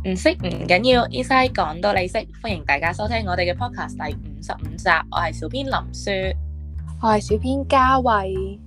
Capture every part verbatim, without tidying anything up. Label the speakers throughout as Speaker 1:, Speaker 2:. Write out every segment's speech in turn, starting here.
Speaker 1: 唔識唔緊要，Eastside 講到你識，歡迎大家收聽我哋嘅 podcast 第五十五集，我係小編林雪，
Speaker 2: 我係小編嘉慧。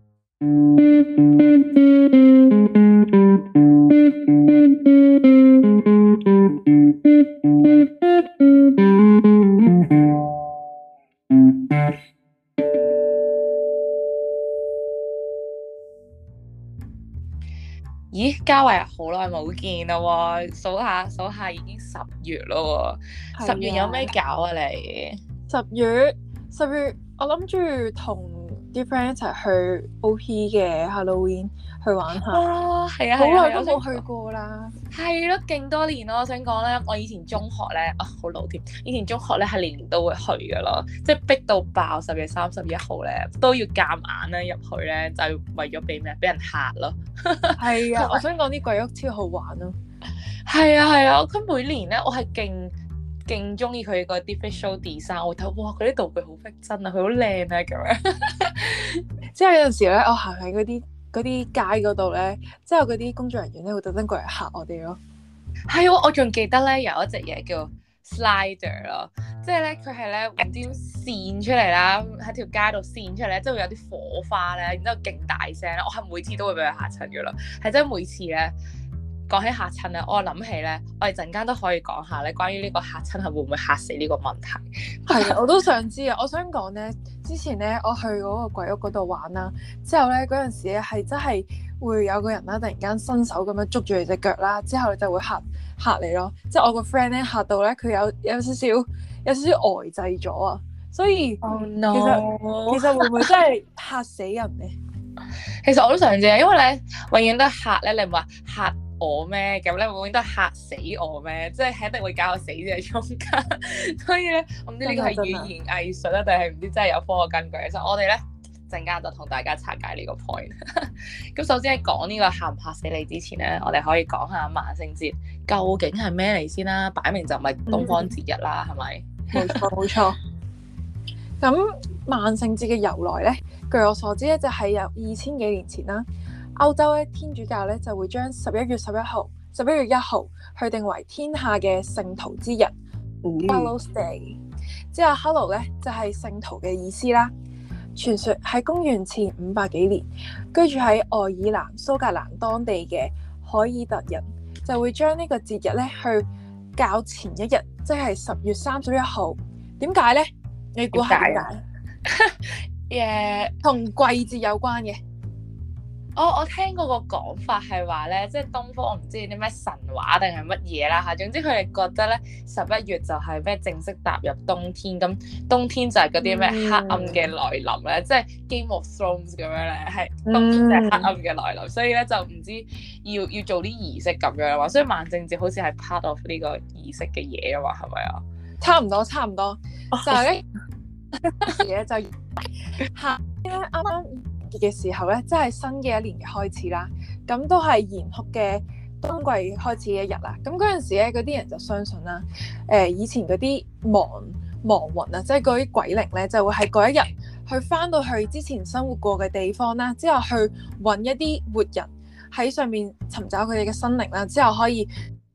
Speaker 1: 咦，嘉慧啊，好耐冇見啦喎，數下數下已經十月啦喎，十月有咩搞啊你？
Speaker 2: 十月十月，我諗住同啲 friend 一齊去 O P 嘅 Halloween 去玩下。
Speaker 1: 哦，係啊，
Speaker 2: 好耐
Speaker 1: 啊
Speaker 2: 都冇去過啦。
Speaker 1: 係咯，勁多年咯。我想講咧，我以前中學咧，啊好老添。以前中學咧係年年都會去噶咯，即係逼到爆。十月三十一號咧都要夾硬咧入去咧，就係為咗俾咩？俾人嚇咯。
Speaker 2: 係啊，我想講啲鬼屋超好玩咯。
Speaker 1: 係啊係啊，佢每年咧，我係勁勁中意佢嗰啲 visual design。我會睇哇，佢啲道具好逼真啊，佢好靚啊咁樣。
Speaker 2: 即係有陣時咧，我行喺嗰啲嗰啲街嗰度咧，即係有嗰啲工作人員咧會特登過嚟嚇我哋咯。
Speaker 1: 係喎，我仲記得咧有一隻嘢叫 slider 咯，即係咧佢係咧唔知線出嚟啦，喺條街度線出嚟咧，即係會有啲火花咧，然之後勁大聲咧，我係每次都會俾佢嚇親嘅咯，係真係每次咧講起嚇親咧，我諗起咧，我哋陣間都可以講下咧關於呢個嚇親係會唔會嚇死呢個問題。
Speaker 2: 係啊，我都想知啊！我想講咧，之前咧我去嗰個鬼屋嗰度玩啦，之後咧嗰陣時咧係真係會有個人啦，突然間伸手咁樣捉住你隻腳啦，之後你就會嚇嚇你咯。即係我個 friend 咧嚇到咧，佢有有少少有少少呆滯咗啊！所以、
Speaker 1: oh, no.
Speaker 2: 其實其實會唔會真係嚇死人咧？
Speaker 1: 其實我都想知啊，因為咧永遠都係嚇咧，你唔話嚇我咩？咁咧永遠都係嚇死我咩？即係一定會搞我死喺中間。所以咧，我唔知呢個係語言藝術啊，定係唔知真係有科學根據。其實我哋咧陣間就同大家拆解呢個 point。咁首先喺講呢個嚇唔嚇死你之前咧，我哋可以講下萬聖節究竟係咩嚟先啦。擺明就唔係東方節日啦，係咪、
Speaker 2: 嗯？冇錯冇錯。咁萬聖節嘅由來咧，據我所知咧，就係由二千幾年前啦。歐洲咧天主教咧就會將十一月十一號、十一月一號去定為天下嘅聖徒之日 Hallows Day。之後 Hallow 咧就係聖徒嘅意思啦。傳說喺公元前五百幾年，居住喺愛爾蘭蘇格蘭當地嘅凱爾特人就會將呢個節日咧去較前一日，即係十月三十一號。點解咧？你估下點解？誒，同季節有關嘅。
Speaker 1: 我、oh, 我聽過個講法係話咧，即係東方我唔知啲咩神話定係乜嘢啦嚇。總之佢哋覺得咧十一月就係咩正式踏入冬天，咁冬天就係嗰啲咩黑暗嘅來臨咧，嗯、即係 Game of Thrones 咁樣咧，係冬天就係黑暗嘅來臨，嗯、所以咧就唔知要要做啲儀式咁樣話，所以萬聖節好似係 part of 呢個儀式嘅嘢啊嘛，係咪啊？
Speaker 2: 差唔多差唔多，就係咧嘢就夏天咧啱啱嘅時候咧，即係新嘅一年嘅開始啦。咁都係嚴酷嘅冬季開始嘅一日啦。咁嗰陣時咧，嗰啲人就相信啦。誒、呃，以前嗰啲亡亡魂啊，即係嗰啲鬼靈咧，就會喺嗰一日去翻到去之前生活過嘅地方啦，之後去揾一啲活人喺上面尋找佢哋嘅生靈啦，之後可以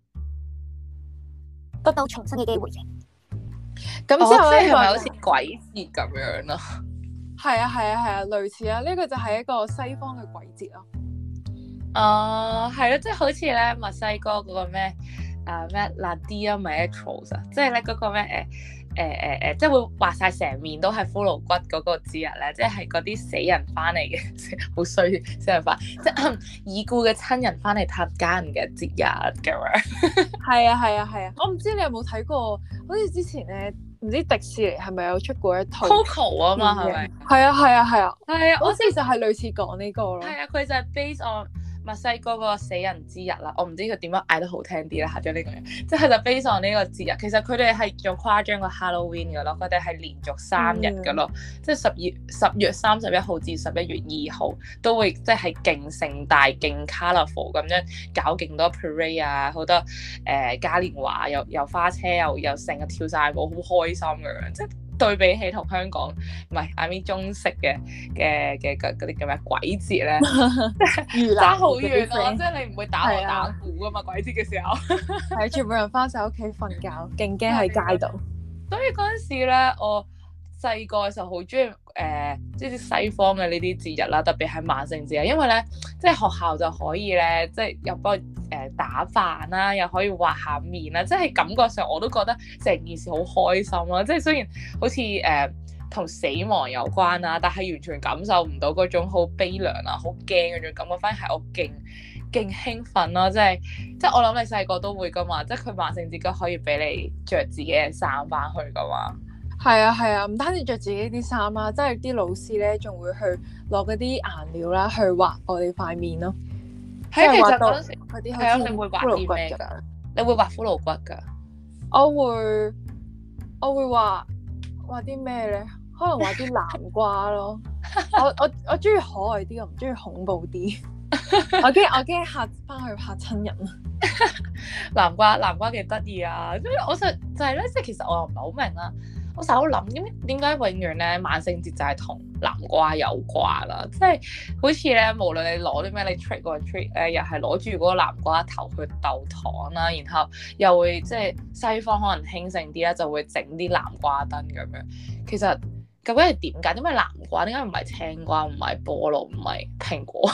Speaker 2: 得到重生嘅機會嘅。咁之後咧，
Speaker 1: 係咪好似鬼節咁樣咯？
Speaker 2: 係啊係啊係啊，類似啊，呢、這個就係一個西方嘅鬼節咯。
Speaker 1: 哦、uh, 係咯，即係好似咧墨西哥嗰個咩啊咩 La Dia Muertos 啊，即係咧嗰個咩誒誒誒誒，即係會畫晒成面都係骷髏骨嗰個節日咧，即係嗰啲死人翻嚟嘅，好衰死人翻，即係已故嘅親人翻嚟探家人嘅節日咁樣。係
Speaker 2: 啊係啊係啊，我唔知你有冇睇過，好似之前咧。唔知迪士尼係咪有出過一套
Speaker 1: Coco 啊嘛，係咪？
Speaker 2: 係啊係啊係啊，
Speaker 1: 係啊，
Speaker 2: 好似就係類似講呢個咯。
Speaker 1: 係啊，佢就係 base on 墨西哥嗰個死人之日啦。我唔知佢點樣嗌得好聽啲啦，嚇咗呢個人，即係就 base on 呢個節日。其實佢哋係仲誇張過 Halloween 嘅咯，佢哋係連續三日嘅咯，嗯、即係十月十月三十一號至十一月二號都會即係勁盛大、勁 colourful 咁樣搞勁多 parade 啊，好多誒嘉年華，又又花車又又成日跳晒舞，好開心咁樣，即係對比起同香港唔係 I mean 中式嘅嘅嘅嗰啲叫咩鬼節咧，爭好遠咯！即係你唔會打鑼打鼓噶嘛，鬼節嘅時候
Speaker 2: 係全部人翻晒屋企瞓覺，勁驚喺街度。
Speaker 1: 所以嗰陣時咧，我細個嘅時候好中意誒，即係西方嘅呢啲節日啦，特別係萬聖節啊，因為咧，即係學校就可以咧，即係又幫誒打扮啦，又可以畫下面啦，即係感覺上我都覺得成件事好開心咯。即係雖然好似誒同死亡有關啦，但係完全感受唔到嗰種好悲涼啊、好驚嗰種感覺，反而係我勁勁興奮咯。即係即係我諗你細個都會噶嘛，即係佢萬聖節都可以俾你着自己嘅衫翻去噶嘛。
Speaker 2: 係啊係啊，唔單止着自己啲衫啊，即係啲老師咧仲會去攞嗰啲顏料啦，去畫我哋塊面咯。
Speaker 1: 係啊，其實嗰陣時
Speaker 2: 嗰啲
Speaker 1: 係啊，你會畫啲咩㗎？你會畫骷髏骨㗎？
Speaker 2: 我會我會畫畫啲咩咧？可能畫啲南瓜咯。我我我中意可愛啲，我唔中意恐怖啲。我驚我驚嚇翻去嚇親人啊！
Speaker 1: 南瓜南瓜幾得意啊！咁我就就係咧，即係其實我又唔係好明啦。我成日都諗點點解永遠咧萬聖節就係同南瓜有關啦，即係好似咧無論你攞啲咩，你 trick or treat 咧，又係攞住嗰個南瓜頭去鬥糖啦，然後又會即係西方可能興盛啲啦，就會整啲南瓜燈咁樣。其實究竟係點解？點解南瓜？點解唔係青瓜？唔係菠蘿？唔係蘋果？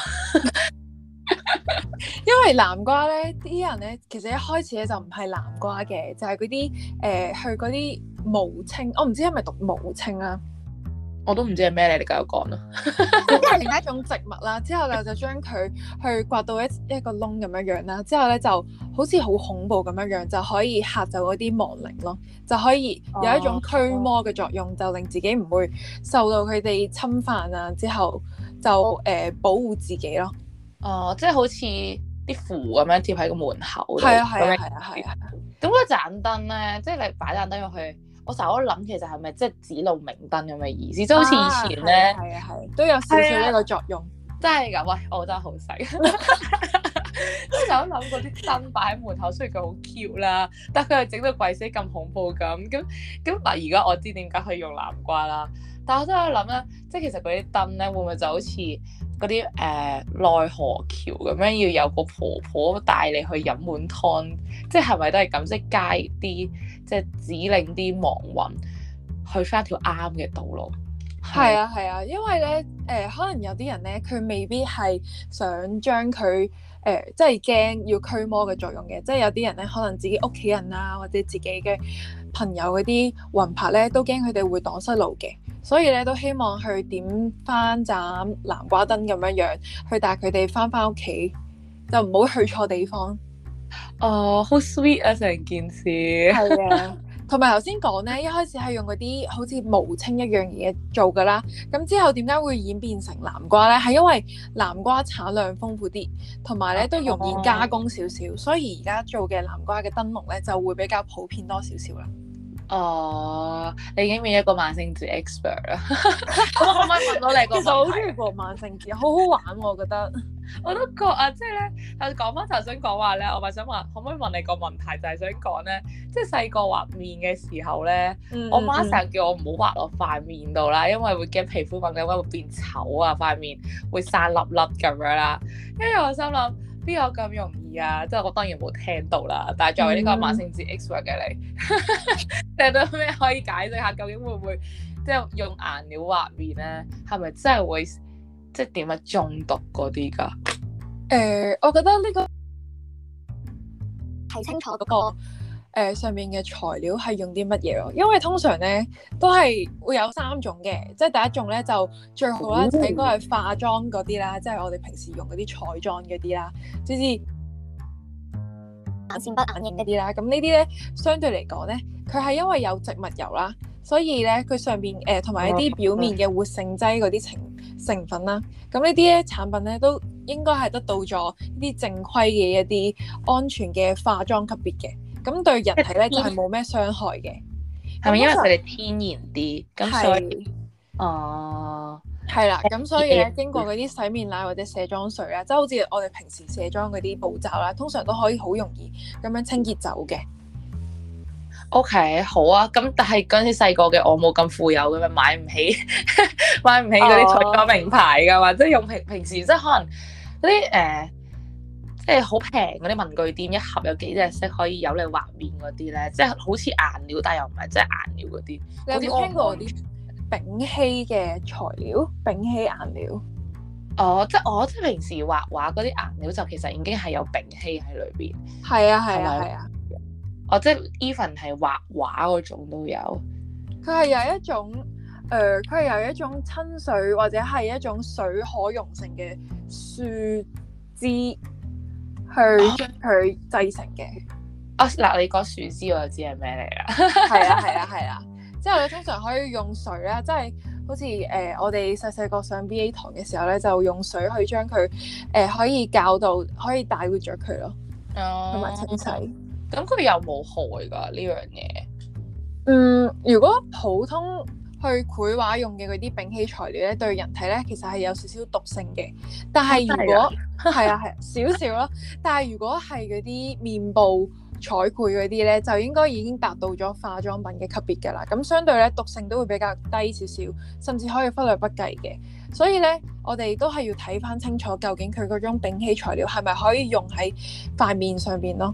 Speaker 2: 因為南瓜咧，啲人咧其實一開始咧就唔係南瓜嘅，就係嗰啲誒去嗰啲蕪菁，我唔知係咪讀蕪菁啦，
Speaker 1: 我都唔知係咩嚟，你繼續講啦。
Speaker 2: 咁係另一種植物啦，之後咧就將佢去刮到一一個窿咁樣樣啦，之後咧就好似好恐怖咁樣樣，就可以嚇走嗰啲亡靈咯，就可以有一種驅魔嘅作用，就令自己唔會受到佢哋侵犯啊，之後就誒、呃、保護自己咯。
Speaker 1: 哦，即係好似啲符咁樣貼喺個門口度。
Speaker 2: 係啊係啊係啊係啊。
Speaker 1: 咁嗰盞燈咧，即係你擺盞燈入去，我成日都諗其實係咪即係指路明燈咁嘅意思？即係好似以前咧，
Speaker 2: 係啊係，都有少少呢個作用。
Speaker 1: 真係㗎，喂，我真係好細。我成日都諗嗰啲燈擺喺門口，雖然佢好 cute 啦，但係佢又整到鬼死咁恐怖咁。咁咁嗱，而家我知點解可以用南瓜啦。但係我真係諗咧，即係其實嗰啲燈咧，會唔會就好似嗰啲誒奈何橋咁樣，要有個婆婆帶你去飲碗湯，即係係咪都係咁？即係街啲，即係指令啲亡魂去翻條啱嘅道路。
Speaker 2: 係啊係啊，因為咧誒、呃，可能有啲人咧，佢未必係想將佢誒，即係驚要驅魔嘅作用嘅，即係有啲人咧，可能自己屋企人啊，或者自己嘅朋友嗰啲魂魄咧，都驚佢哋會蕩失路嘅。所以咧都希望去點翻盞南瓜燈咁樣樣，去帶佢哋翻翻屋企，就唔好去錯地方。
Speaker 1: 哦，好 sweet 啊，成件事。
Speaker 2: 係啊，同埋頭先講咧，一開始係用嗰啲好似蕪菁一樣嘢做噶啦，咁之後點解會演變成南瓜咧？係因為南瓜產量豐富啲，同埋咧都容易加工少少，所以而家做嘅南瓜嘅燈籠咧就會比較普遍多少少啦。
Speaker 1: 哦，你已經變一個萬聖節 expert 啦。咁我可唔可以問到你個問題？
Speaker 2: 其實我好中意過萬聖節，好好玩喎，我覺得。
Speaker 1: 我都覺啊，即係咧，誒講翻頭先講話咧，我咪想問，可唔可以問你個問題？就係想講咧，即係細個畫面嘅時候咧，嗯、我媽成日叫我唔好畫落塊面度啦，因為會驚皮膚敏感，會變醜啊，塊面會生粒粒咁樣啦。跟住我心諗，邊有咁容易啊？即係我當然冇聽到啦。但係作為呢個萬聖節 expert 嘅你，你有啲咩可以解釋下？究竟會唔會即係用顏料畫面咧？係咪真係會？即係點啊？中毒嗰啲㗎？
Speaker 2: 誒、呃，我覺得呢、這個睇清楚嗰、那個、呃、上面嘅材料係用啲乜嘢咯。因為通常咧都係會有三種嘅，即係第一種咧就最好咧就應該係化妝嗰啲啦，即係我哋平時用嗰啲彩妝嗰啲啦，即係眼線筆、眼影嗰啲啦。咁呢啲咧相對嚟講咧，佢係因為有植物油啦，所以咧佢上邊誒同埋一啲表面嘅活性劑嗰啲成成分啦，咁呢啲咧產品咧都應該係得到咗呢啲正規嘅一啲安全嘅化妝級別嘅，咁對人體咧就係冇咩傷害嘅。
Speaker 1: 係咪因為佢哋天然啲？咁所以
Speaker 2: 是
Speaker 1: 哦，
Speaker 2: 係啦，咁所以咧經過嗰啲洗面奶或者卸妝水啦，即係好似我哋平時卸妝嗰啲步驟啦，通常都可以好容易咁樣清潔走嘅。
Speaker 1: OK，好啊。咁但係嗰陣時細個嘅我冇咁富有嘅嘛，買唔起買唔起嗰啲彩妝名牌㗎嘛，即係用平平時即係可能嗰啲誒，即係好平嗰啲文具店一盒有幾隻色可以有你畫面嗰啲咧，即係好似顏料，但係又唔係真係顏料嗰啲。
Speaker 2: 你有冇聽過啲丙烯嘅材料？丙烯顏料？
Speaker 1: 哦，即係我即係平時畫畫嗰啲顏料就其實已經係有丙烯喺裏邊。
Speaker 2: 係啊係啊係啊！
Speaker 1: 哦，即係 even 係畫畫嗰種都有。
Speaker 2: 佢係有一種誒，佢、呃、係有一種親水或者係一種水可溶性嘅樹枝去將佢製成嘅。
Speaker 1: 啊嗱，你講樹枝我就知係咩嚟啦。
Speaker 2: 係啊係啊係啊！之後咧通常可以用水啦，即係好似誒、呃、我哋細細個上 B A 堂嘅時候咧，就用水去將佢誒可以教到可以大活咗佢咯，同埋、哦、清洗。
Speaker 1: 咁佢有冇害㗎呢樣嘢？
Speaker 2: 嗯，如果普通去繪畫用嘅嗰啲丙烯材料咧，對人體咧其實係有少少毒性嘅。但係如果係啊係少少咯，但係如果係嗰啲面部彩繪嗰啲咧，就應該已經達到咗化妝品嘅級別㗎啦。咁相對咧毒性都會比較低少少，甚至可以忽略不計嘅。所以咧，我哋都係要睇翻清楚，究竟佢嗰種丙烯材料係咪可以用喺塊面上邊咯。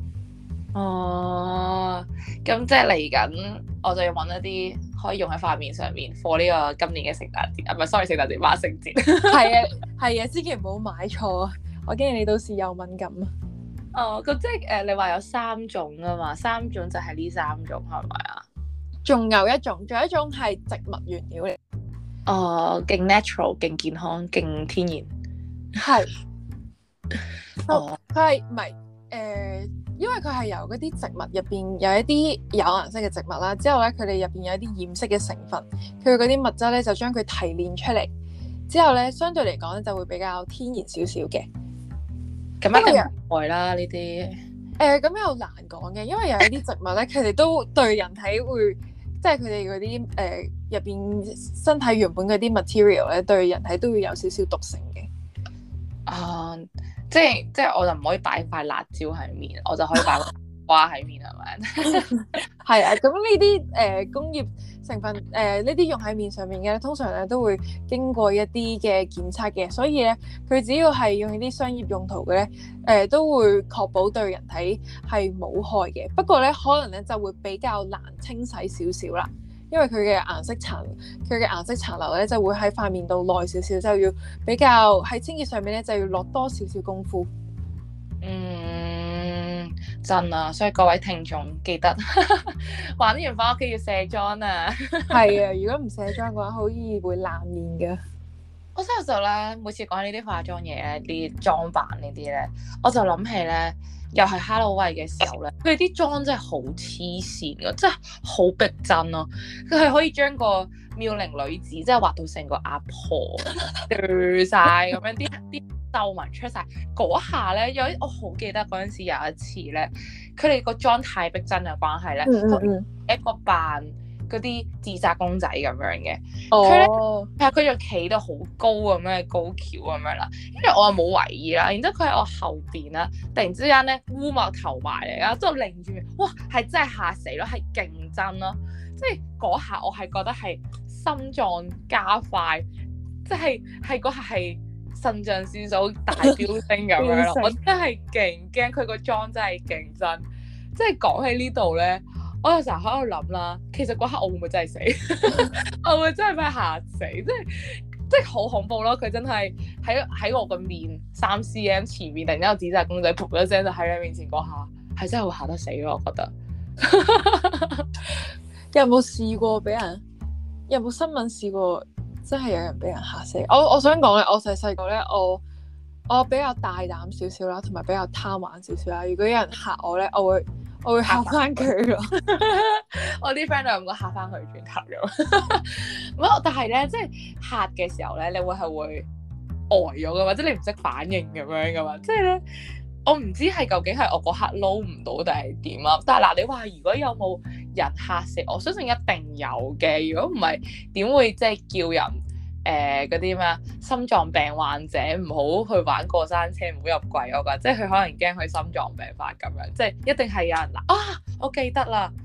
Speaker 1: 哦，咁即係嚟緊，我就要揾一啲可以用喺塊面上面，for 呢個今年嘅聖誕節，啊唔係，sorry，聖誕節，萬聖節。
Speaker 2: 係啊，係啊，千祈唔好買錯啊！我驚你到時有敏感啊。
Speaker 1: 哦，咁即係誒、呃，你話有三種啊嘛，三種就係呢三種係咪啊？
Speaker 2: 仲有一種，仲有一種係植物原料嚟。
Speaker 1: 哦，勁 natural，勁健康，勁天然。
Speaker 2: 係。哦，佢係唔係誒？因為佢係由嗰啲植物入邊有一啲有顏色嘅植物啦，之後咧佢哋入邊有一啲染色嘅成分，佢嗰啲物質咧就將佢提煉出嚟，之後咧相對嚟講咧就會比較天然少少嘅。
Speaker 1: 咁一定唔害啦呢啲。
Speaker 2: 誒，咁又難講嘅，因為有一啲植物咧，佢哋都對人體會，即係佢哋嗰啲誒入邊身體原本嗰啲 material 咧，對人體都會有少少毒性嘅。
Speaker 1: 啊。即係即係我就唔可以擺塊辣椒喺面，我就可以擺花喺面係咪？
Speaker 2: 係啊，咁呢啲誒工業成分誒呢啲用喺面上面嘅，通常咧都會經過一啲嘅檢測嘅，所以咧佢只要係用啲商業用途嘅咧，誒、呃、都會確保對人體係冇害嘅。不過咧可能咧就會比較難清洗少少啦。因為佢嘅顏色殘，佢嘅顏色殘留咧就會喺塊面度耐少少，就要比較喺清潔上面咧就要落多少少功夫。
Speaker 1: 嗯，真啊，所以各位聽眾記得玩完翻屋企要卸妝啊。係
Speaker 2: 啊，如果唔卸妝嘅話，好易會爛面嘅。
Speaker 1: 我真係就咧，每次講呢啲化妝嘢咧，啲妝扮呢啲咧，我就諗起咧。又係 Halloween 嘅時候咧，佢哋啲妝真係好黐線㗎，真係好逼真咯。佢係可以將個妙齡女子即係畫到成個阿婆對晒咁樣，啲啲皺紋出晒。嗰下咧，有我好記得嗰陣時有一次咧，佢哋個妝太逼真嘅關係咧，
Speaker 2: 嗯嗯嗯
Speaker 1: 一個扮嗰啲自殺公仔咁樣嘅，
Speaker 2: 佢
Speaker 1: 咧
Speaker 2: 係
Speaker 1: 啊佢就企到好高咁樣高橋咁樣啦，跟住我又冇為意啦，然之後佢喺我後邊啦，突然之間咧烏幕頭埋嚟啦，之後擰住面，哇係真係嚇死咯，係勁真咯，即係嗰下我係覺得係心臟加快，即係係嗰下係腎上腺素大飆升咁樣咯，我真係勁驚佢個妝真係勁真，即係講起呢度咧。我有時候喺度諗啦，其實嗰刻我會唔會真係死？我會，會真係俾嚇死，即係即係好恐怖咯！佢真係喺喺我個面三 cm 前面，突然間有紙紮公仔噗一聲就喺你面前嗰下，係真係會嚇得死咯！我覺得。
Speaker 2: 有冇試過俾人？有冇新聞試過真係有人俾人嚇死？我我想講咧，我細細個咧，我我比較大膽少少啦，同埋比較貪玩少少啦。如果有人嚇我咧，我會。我會嚇翻佢咯，
Speaker 1: 我啲 friend 都有咁嚇翻佢轉頭咗。唔但係咧，即係嚇嘅時候咧，你會係會呆咗噶嘛，即係你唔識反應咁樣噶嘛。即係咧，我唔知係究竟係我嗰刻撈唔到定係點啊。但係嗱，你話如果有冇人嚇死我，相信一定有嘅。如果唔係，點會即係叫人？誒嗰啲咩心臟病患者唔好去玩過山車，唔好入櫃，我覺得即係佢可能驚佢心臟病發咁樣，即係一定係有人嗱啊！我記得啦，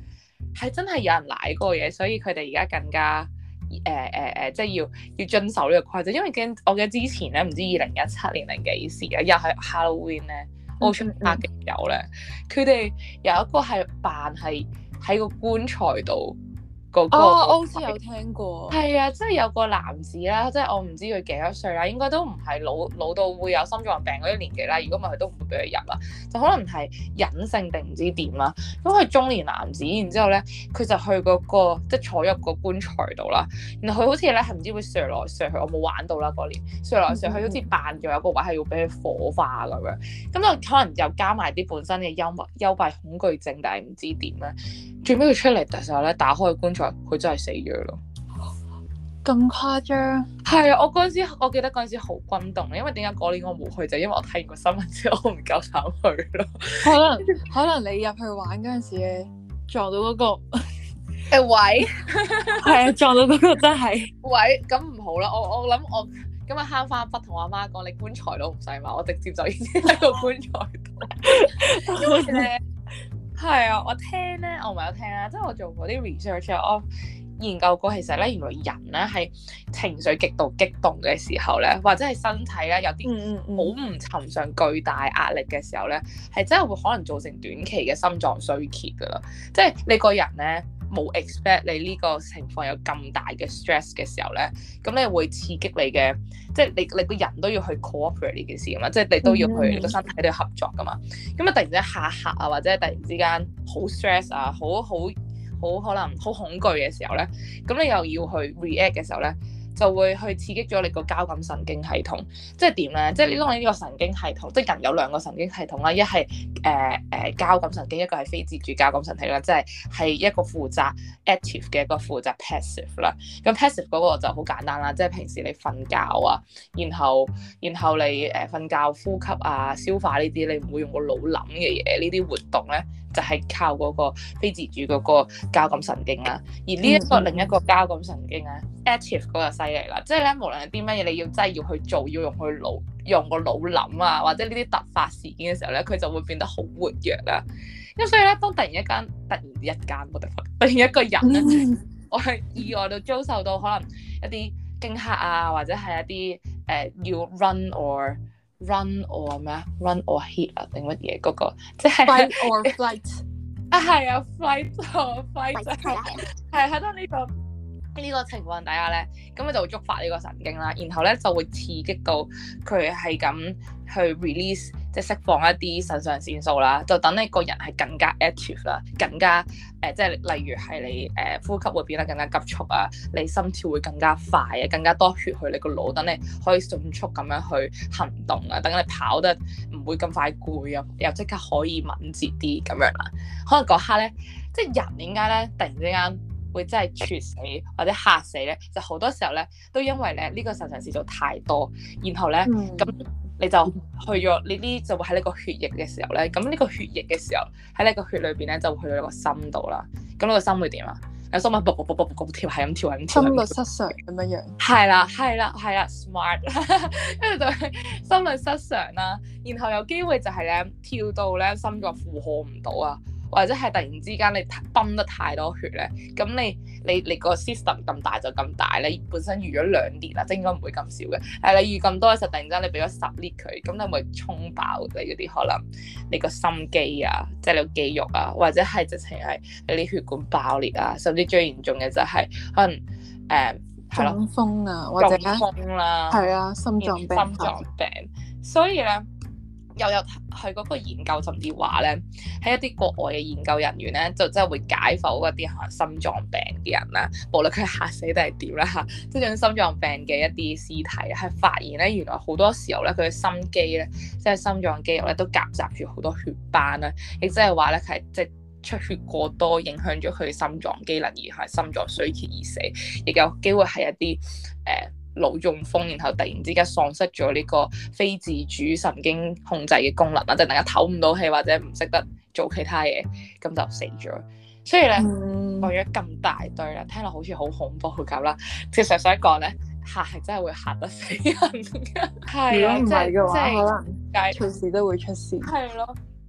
Speaker 1: 係真係有人舐過嘢，所以佢哋而家更加誒誒誒，即係要要遵守呢個規則。因為驚我記得之前咧，唔知二零一七年定幾時啊，又係 Halloween 咧，澳出拍嘅友咧，佢哋有一個係扮係喺個棺材度。嗰個、
Speaker 2: 哦，我好似有聽過。
Speaker 1: 係啊，即係有個男子啦，即係我唔知佢幾多歲啦，應該都唔係老老到會有心臟病嗰啲年紀啦。如果唔係，佢都唔會俾佢入啦。就可能係隱性定唔知點啦。咁佢中年男子，然之後咧，佢就去嗰、嗰個即係坐入個棺材度啦。然後佢好似咧係唔知會上來上去，我冇玩到啦嗰年。上來上去好似扮咗有個位係要俾佢火化咁樣。咁就可能又加埋啲本身嘅幽默幽閉恐懼症，但係唔知點咧。最尾佢出嚟嘅時候咧，打開個棺材，佢真係死咗咯。
Speaker 2: 咁誇張？
Speaker 1: 係啊，我嗰陣時，我記得嗰陣時好轟動，因為點解嗰年我冇去就因為我睇完個新聞之後，我唔夠膽去咯。
Speaker 2: 可能可能你入去玩嗰陣時咧，撞到嗰、嗰個
Speaker 1: 誒位，
Speaker 2: 係啊，撞到嗰個真係
Speaker 1: 位，咁唔好啦。我我諗我今日慳翻筆同我阿媽講，你棺材都唔使買，我直接就已經喺個棺材度。因為咧。係啊，我聽咧，我唔係有聽啦，即係我做過啲 research，我研究過其實咧，原來人咧係情緒極度激動嘅時候咧，或者係身體咧有啲好唔尋常巨大壓力嘅時候咧，係真係會可能造成短期嘅心臟衰竭噶啦。即係你個人咧冇 expect 你呢個情況有咁大嘅 stress 嘅時候咧，咁你會刺激你嘅，即係你你個人都要去 cooperate 呢件事噶嘛，即係你都要去、嗯、你個身體都要合作噶嘛。咁啊突然之間嚇嚇啊，或者突然之間好 stress 啊，好好好可能好恐懼嘅時候咧，咁你又要去 react 嘅時候咧，就會去刺激咗你個交感神經系統。即係點咧？即係你當你呢個神經系統，即係人有兩個神經系統啦，一係誒誒交感神經，一個係非自主交感神經啦，即係係一個負責 active 嘅，一個負責 passive 啦。咁 passive 嗰個就好簡單啦，即係平時你瞓覺啊，然後然後你誒瞓覺呼吸啊、消化呢啲，你唔會用個腦諗嘅嘢，呢啲活動咧就係靠嗰個非自主嗰個交感神經啦。而呢一個另一個交感神經咧 active 嗰個犀利啦，即係咧無論係啲乜嘢，你要真係要去做，要用佢腦用個腦諗啊，或者呢啲突發事件嘅時候咧，佢就會變得好活躍啦。咁所以咧，當突然一間突然一間我哋突然一個人咧，我係意外到遭受到可能一啲驚嚇啊，或者係一啲誒、呃、要 run or run or 咩啊 run or hit 啊定乜嘢嗰個，即係
Speaker 2: fight or flight
Speaker 1: 啊，係啊 flight or fight 係係喺度呢個。呢個情況底下咧，咁佢就會觸發呢個神經啦，然後咧就會刺激到佢係咁去 release，即係釋放一啲腎上腺素啦，就等你個人係更加 active 啦，更加誒、呃，即係例如係你誒、呃、呼吸會變得更加急促啊，你心跳會更加快啊，更加多血去你個腦，等你可以迅速咁樣去行動啊，等你跑得唔會咁快攰啊，又即刻可以敏捷啲咁樣啦。可能嗰刻咧，即係人點解咧突然之間會真係猝死或者嚇死咧，就好多時候咧都因為咧呢、呢個腎上腺素太多，然後咧咁、嗯、你就去咗呢啲就會喺呢個血液嘅時候咧，咁呢個血液嘅時候喺你個血裏邊咧就會去到你個心度啦。咁你個心會點啊？有心咪卜卜卜卜卜跳，係咁跳，係咁跳，
Speaker 2: 心律失常咁樣樣。
Speaker 1: 係啦，係啦，係啦 ，smart， 跟住就係心律失常啦，然後有機會就係咧跳到咧心臟負荷唔到啊。或者係突然之間你泵得太多血咧，咁你你你個 system 咁大就咁大，你本身預咗兩列啦，即係應該唔會咁少嘅。誒，你預咁多嘅時候，突然之間你俾咗十列佢，咁你咪衝爆你嗰啲可能你個心肌啊，即係你個肌肉啊，或者係直情係你啲血管爆裂啊，甚至最嚴重嘅就係可能誒係咯，
Speaker 2: 中風啊，或者
Speaker 1: 中風啦，
Speaker 2: 係啊，心臟病，
Speaker 1: 心臟病，所以咧。又有係嗰個研究，甚至話咧，喺一啲國外嘅研究人員咧，就真係會解剖嗰啲可能心臟病嘅人啦，無論佢係嚇死定係點啦嚇，即係種心臟病嘅一啲屍體，係發現咧原來好多時候咧佢嘅心肌咧，即係心臟肌肉咧都夾雜住好多血斑啦，亦即係話咧佢係即係出血過多，影響咗佢心臟機能而係心臟衰竭而死，亦有機會係一啲誒。呃腦中風，然後突然之間喪失咗呢個非自主神經控制嘅功能啦，即係大家唞唔到氣或者唔識得做其他嘢，咁就死咗。所以咧，講咗咁大堆啦，聽落好似好恐怖咁啦。其實想講咧，嚇係真係會嚇得死人嘅。係啊，
Speaker 2: 如果唔係嘅話，
Speaker 1: 即係
Speaker 2: 可能隨時都會出事。
Speaker 1: 係咯，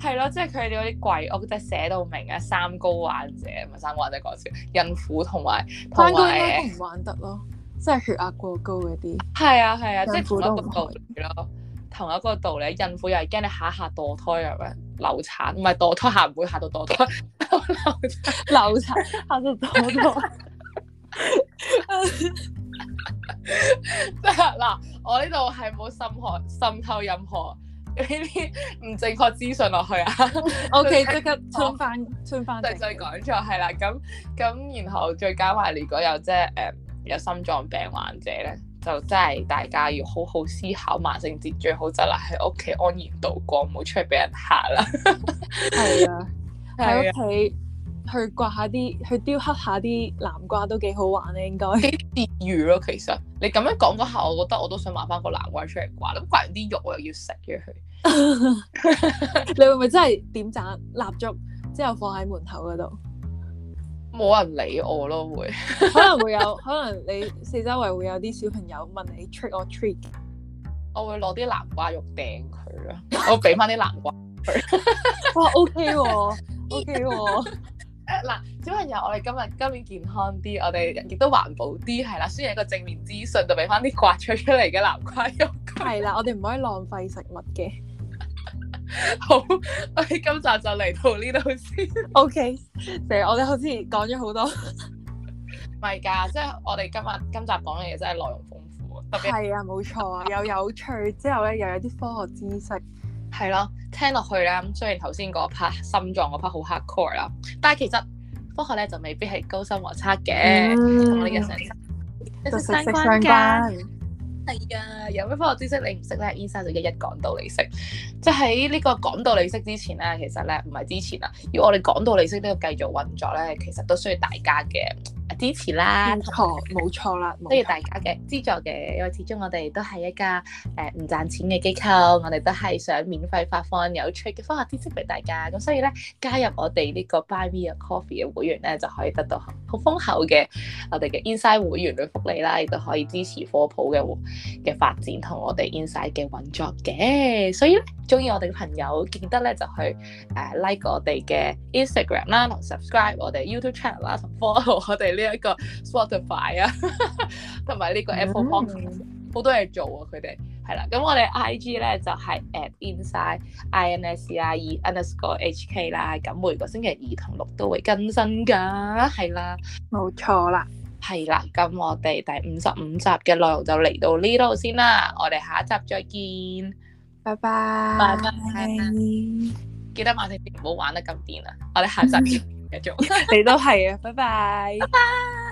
Speaker 1: 係咯，即係佢哋嗰啲貴屋，即係寫到明啊，三高患者唔係三高患者講笑，孕婦同埋同
Speaker 2: 三高應該
Speaker 1: 埋
Speaker 2: 都唔玩得咯，即係血壓過高嗰啲。
Speaker 1: 係啊係啊，即係
Speaker 2: 孕婦都唔
Speaker 1: 同一個道理咯，同一個道理。孕婦又係驚你下下墮胎咁樣流產，唔係墮胎下唔會下到墮胎，流產
Speaker 2: 流產下到墮胎。
Speaker 1: 即係嗱，我呢度係冇滲害滲透任何呢啲唔正確資訊落去啊。
Speaker 2: O K， 即刻穿翻穿翻。
Speaker 1: 對，再講錯係啦，咁咁然後再加埋，如果有即係誒有心臟病患者咧，就真係大家要好好思考，萬聖節最好就係喺屋企安然度過，唔好出去俾人嚇啦。係
Speaker 2: 啊，喺屋企。去刮下啲，去雕刻下啲南瓜都幾好玩咧，應該
Speaker 1: 幾治癒咯。其實你咁樣講嗰下，我覺得我都想買翻個南瓜出嚟刮。咁刮完啲肉我又要食嘅佢。
Speaker 2: 你會唔會真係點盞蠟燭之後放喺門口嗰度？
Speaker 1: 冇人理我咯，會
Speaker 2: 可能會有，可能你四周圍會有啲小朋友問你 trick or treat。
Speaker 1: 我會攞啲南瓜肉掟佢咯，我俾翻啲南瓜佢。
Speaker 2: 哇 ，OK 喎，OK 喎。
Speaker 1: 嗱，小朋友，我哋今日今年健康啲，我哋亦都環保啲，係啦。雖然一個正面資訊，就俾翻啲刮出出嚟嘅南瓜肉。
Speaker 2: 係啦，我哋唔可以浪費食物嘅。
Speaker 1: 好，我哋今集就嚟到呢度先。
Speaker 2: O K，成日我哋好似講咗好多。
Speaker 1: 唔係㗎，即係我哋今日今集講嘅嘢真係內容豐富，特別
Speaker 2: 係啊，冇錯啊，又有趣之後咧，又有啲科學知識。
Speaker 1: 係咯，聽落去咧，雖然頭先嗰 part 心臟嗰 part 好 hardcore 啦，但係其實科學咧就未必係高深莫測嘅，同我哋日常息息相關㗎。係啊，有咩科學知識你唔識咧？Inside 就一一講道理識。即係喺呢個講道理識之前咧，其實咧唔係之前啊，要我哋講道理識都要繼續運作咧，其實都需要大家嘅支持啦，
Speaker 2: 冇錯，冇錯啦，
Speaker 1: 需要大家嘅資助嘅，因為始終我哋都係一家誒唔賺錢嘅機構，我哋都係想免費發放有趣嘅科學知識俾大家，咁所以咧加入我哋呢個 Buy Me a Coffee 嘅會員咧，就可以得到好豐厚嘅我哋嘅 Inside 會員嘅福利啦，亦都可以支持科普嘅嘅發展同我哋 Inside 嘅運作嘅，所以咧中意我哋嘅朋友記得咧就去誒、呃、like 我哋嘅 Instagram 啦，同 subscribe 我哋 YouTube channel 啦，同 follow 我哋呢一個 Spotify 啊，同埋呢個 Apple Podcast 好多嘢做啊！佢哋係啦，咁我哋 I G 咧就係、是、at inside I N S C I E underscore H K 啦，咁每個星期二同六都會更新噶，係啦，
Speaker 2: 冇錯啦，
Speaker 1: 係啦，咁我哋第五十五集嘅內容就嚟到呢度先啦，我哋下一集再見，
Speaker 2: 拜拜，
Speaker 1: 拜拜，記得萬聖節唔好玩得咁癲啊！我哋下集見。繼續，
Speaker 2: 你都係啊，拜拜。
Speaker 1: 拜拜。